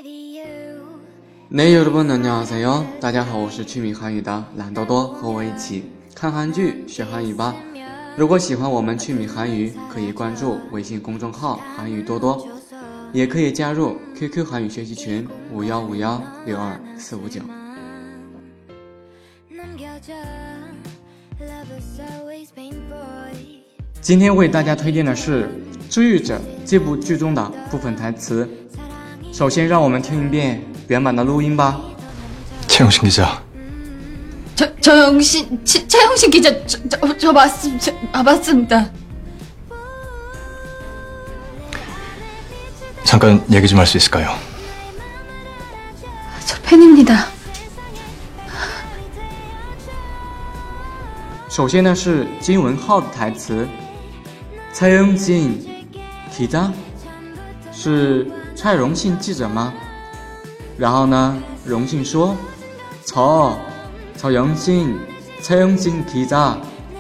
네 여러분 안녕하세요，大家好，我是趣米韩语的懒多多，和我一起看韩剧学韩语吧。如果喜欢我们趣米韩语，可以关注微信公众号韩语多多，也可以加入 QQ 韩语学习群5151624459。今天为大家推荐的是《治愈者》这部剧中的部分台词。首先让我们听一遍原版的录音吧。 최영신 기자. 최영신 기자, 저 맞습니다. 잠깐 얘기 좀 할 수 있을까요? 저 팬입니다. 首先呢是金文浩的台词，최영신 기자是蔡荣信记者吗？然后呢，荣信说，최영신 기자,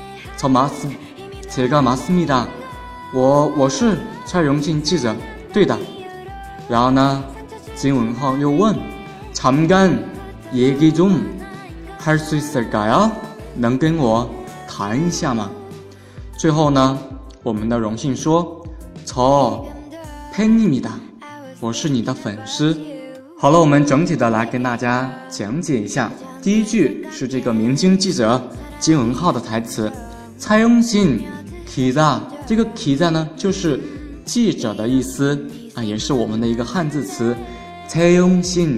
제가 맞습니다. 我是蔡荣信记者，对的。然后呢，金文浩又问，잠깐 얘기 좀 할 수 있을까요? 能跟我谈一下吗？最后呢，我们的荣信说，저 팬입니다. 我是你的粉丝。好了，我们整体的来跟大家讲解一下。第一句是这个明星记者金文浩的台词，최영신 기자，这个기자呢就是记者的意思啊，也是我们的一个汉字词。최영신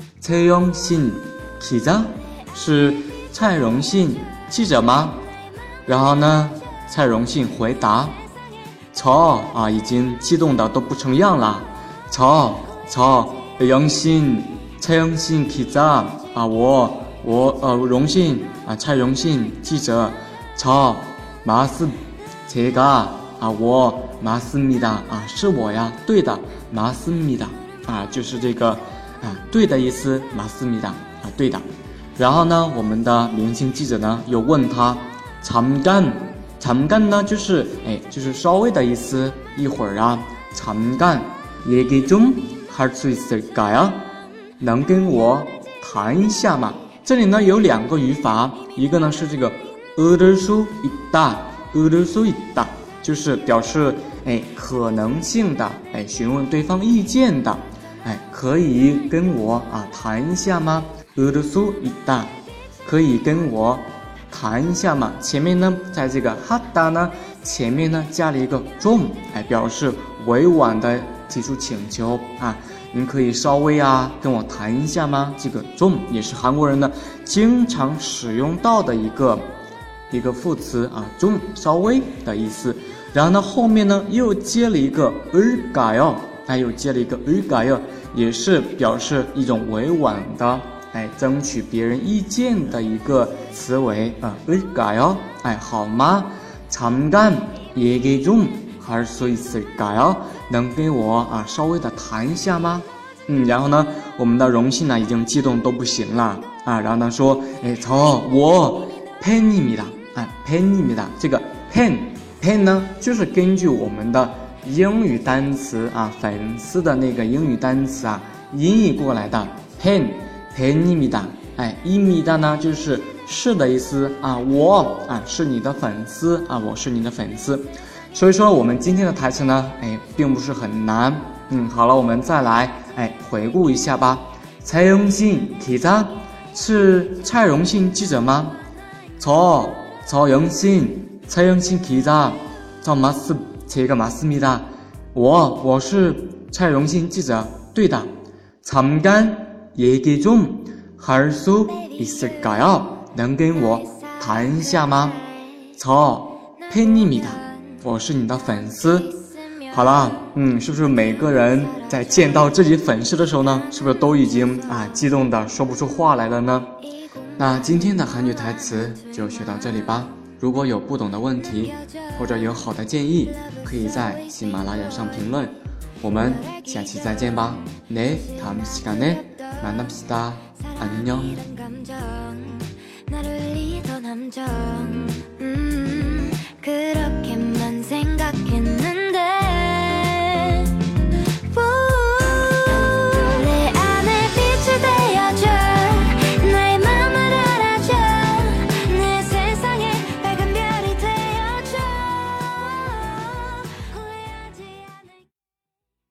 기자是蔡荣信记者吗？然后呢，蔡荣信回答，저已经激动的都不成样了。최영신 기자我荣信蔡荣信记者저 제가我맞습니다是我呀，对的맞습니다就是这个对的意思맞습니다对的。然后呢，我们的明星记者呢又问他잠깐呢就是稍微的意思，一会儿啊。잠깐 얘기 좀 할 수 있을까요? 能跟我谈一下吗？这里呢有两个语法，一个呢是这个을수 있다，就是表示可能性的询问对方意见的，可以跟我谈一下吗？을수 있다，可以跟我谈一下嘛。前面呢，在这个하다呢前面呢加了一个좀，表示委婉的提出请求您可以稍微跟我谈一下吗？这个좀也是韩国人呢经常使用到的一个副词좀稍微的意思。然后呢后面呢又接了一个을까요，也是表示一种委婉的争取别人意见的一个词尾을까요，好吗？잠깐 얘기 좀 할 수 있을까요？能跟我稍微的谈一下吗？然后呢，我们的荣信呢已经激动都不行了然后呢说，我팬입니다，팬입니다。这个팬呢，就是根据我们的英语单词粉丝的那个英语单词音译过来的팬입니다。입니다呢就是的意思我是你的粉丝我是你的粉丝。所以说我们今天的台词呢并不是很难。好了，我们再来回顾一下吧。최영신 기자是蔡荣信记者吗？최영신 기자 제가 맞습니다。我是蔡荣信记者，对的。잠깐 얘기 좀 할 수 있을까요？能跟我谈一下吗？저 팬입니다。我是你的粉丝。好了，是不是每个人在见到自己粉丝的时候呢，是不是都已经激动的说不出话来了呢？那今天的韩语台词就学到这里吧。如果有不懂的问题或者有好的建议，可以在喜马拉雅上评论。我们下期再见吧。네 다음 시간에 만납시다. 안녕.